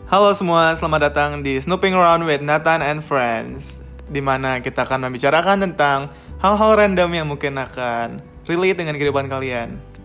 Halo semua, selamat datang di Snooping Around with Nathan and Friends, di mana kita akan membicarakan tentang hal-hal random yang mungkin akan relate dengan kehidupan kalian.